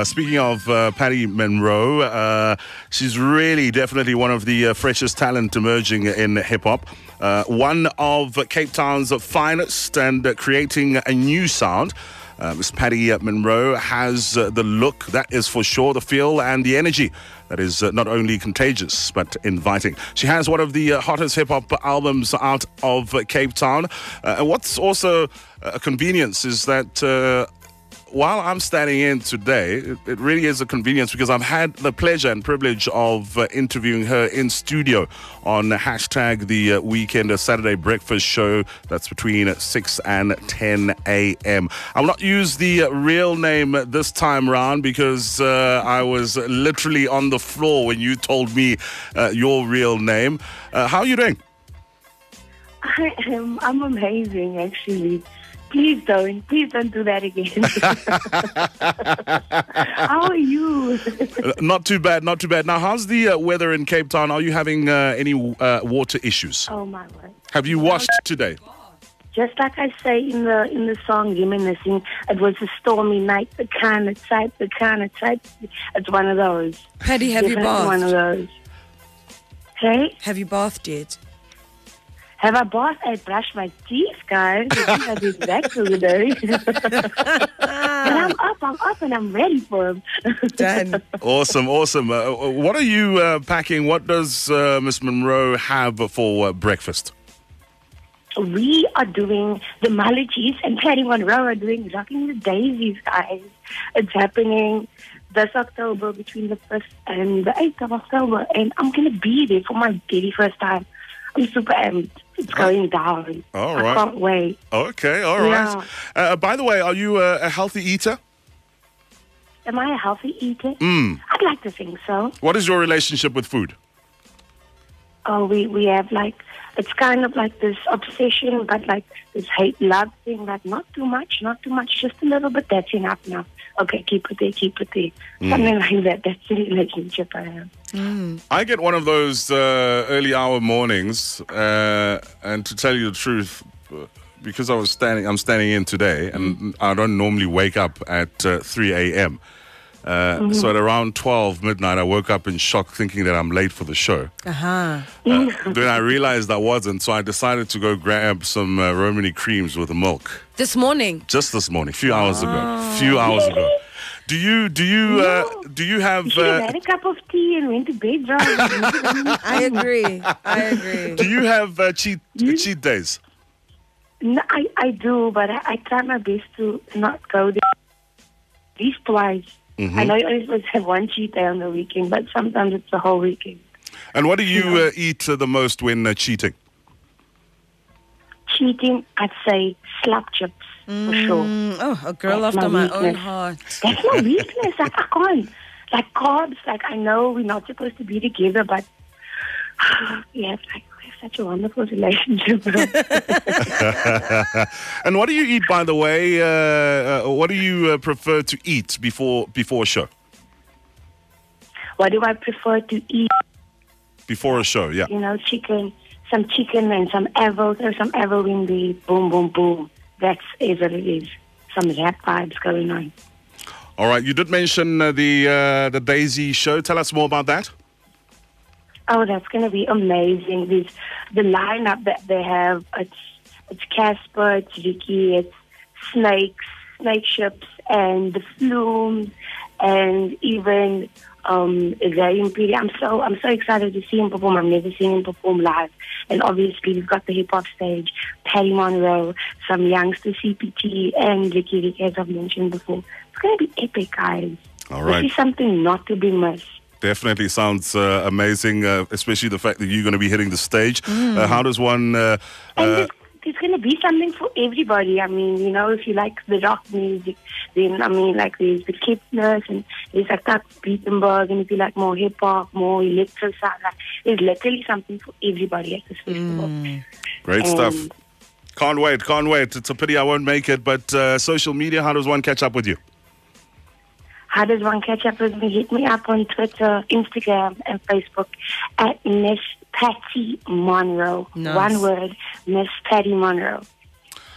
Speaking of Patty Monroe, she's really definitely one of the freshest talent emerging in hip-hop. One of Cape Town's finest and creating a new sound. Miss Patty Monroe has the look, that is for sure, the feel and the energy that is not only contagious but inviting. She has one of the hottest hip-hop albums out of Cape Town. And what's also a convenience is that while I'm standing in today, it really is a convenience because I've had the pleasure and privilege of interviewing her in studio on hashtag the weekend Saturday breakfast show that's between 6 and 10 a.m. I will not use the real name this time round because I was literally on the floor when you told me your real name. How are you doing? I'm amazing, actually. Please don't do that again. How are you? Not too bad. Now, how's the weather in Cape Town? Are you having any water issues? Oh my word! Have you washed today? Just like I say in the song Reminiscing, it was a stormy night, the kind of type. It's one of those. Paddy, have you bathed? One of those. Hey? Have you bathed yet? Have I bathed? I brushed my teeth, guys. I think I did that today. But I'm up and I'm ready for him. Done. Awesome. What are you packing? What does Miss Monroe have for breakfast? We are doing the Mullachies and Patty Monroe are doing Rocking the Daisies, guys. It's happening this October between the 1st and the 8th of October. And I'm going to be there for my very first time. I'm super amped. It's going down. All right. I can't wait. Okay, all right. Yeah. By the way, are you a healthy eater? Am I a healthy eater? I'd like to think so. What is your relationship with food? Oh, we have it's kind of like this obsession, but like this hate-love thing, like not too much, just a little bit, that's enough now. Okay, keep it there. Something like that. That's the relationship I have. I get one of those early hour mornings, and to tell you the truth, because I'm standing in today, and I don't normally wake up at 3 a.m., so at around 12 midnight, I woke up in shock thinking that I'm late for the show. Then I realized I wasn't, so I decided to go grab some Romany creams with the milk. This morning? Just this morning, a few hours ago. Do you have... You should have had a cup of tea and went to bed, right? I agree. Do you have cheat days? No, I do, but I try my best to not go there at least twice. I know you're only supposed to have one cheat day on the weekend, but sometimes it's the whole weekend. And what do you eat the most when cheating? Cheating, I'd say slap chips, for sure. Oh, a girl That's after my own weakness. heart. That's my weakness. I can't. Like carbs, I know we're not supposed to be together, but we have such a wonderful relationship. And what do you eat, by the way? What do you prefer to eat before a show? What do I prefer to eat? Before a show, yeah. You know, some chicken and some avos or some avo in the boom, boom, boom. That's what it is. Some rap vibes going on. All right, you did mention the Daisy show. Tell us more about that. Oh, that's going to be amazing. The lineup that they have, it's Casper, it's Ricky, it's Snake Ships, and the Flumes, and even Zay Imperi. I'm so excited to see him perform. I've never seen him perform live. And obviously we've got the hip-hop stage, Patty Monroe, some youngster CPT, and Ricky, as I've mentioned before. It's going to be epic, guys. All right. This is something not to be missed. Definitely sounds amazing, especially the fact that you're going to be hitting the stage. How does one... and there's going to be something for everybody. I mean, you know, if you like the rock music, then, I mean, like there's the Kipness and there's like that Beatenberg, and if you like more hip-hop, more electro sound, like, there's literally something for everybody at this festival. Great stuff. Can't wait. It's a pity I won't make it, but social media, how does one catch up with you? How does one catch up with me? Hit me up on Twitter, Instagram, and Facebook at Miss Patty Monroe. Nice. One word, Miss Patty Monroe.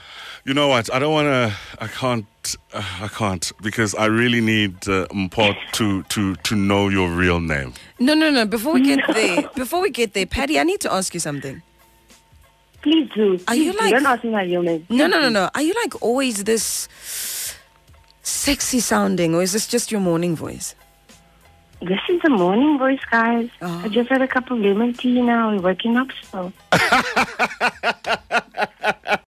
You know what? I don't want to. I can't because I really need Mpho to know your real name. No. Before we get there, Patty, I need to ask you something. Please do. Are you Please do. like- Don't ask me my real name. No. Are you like always this sexy sounding, or is this just your morning voice? This is the morning voice, guys. Oh. I just had a cup of lemon tea now. We're waking up still.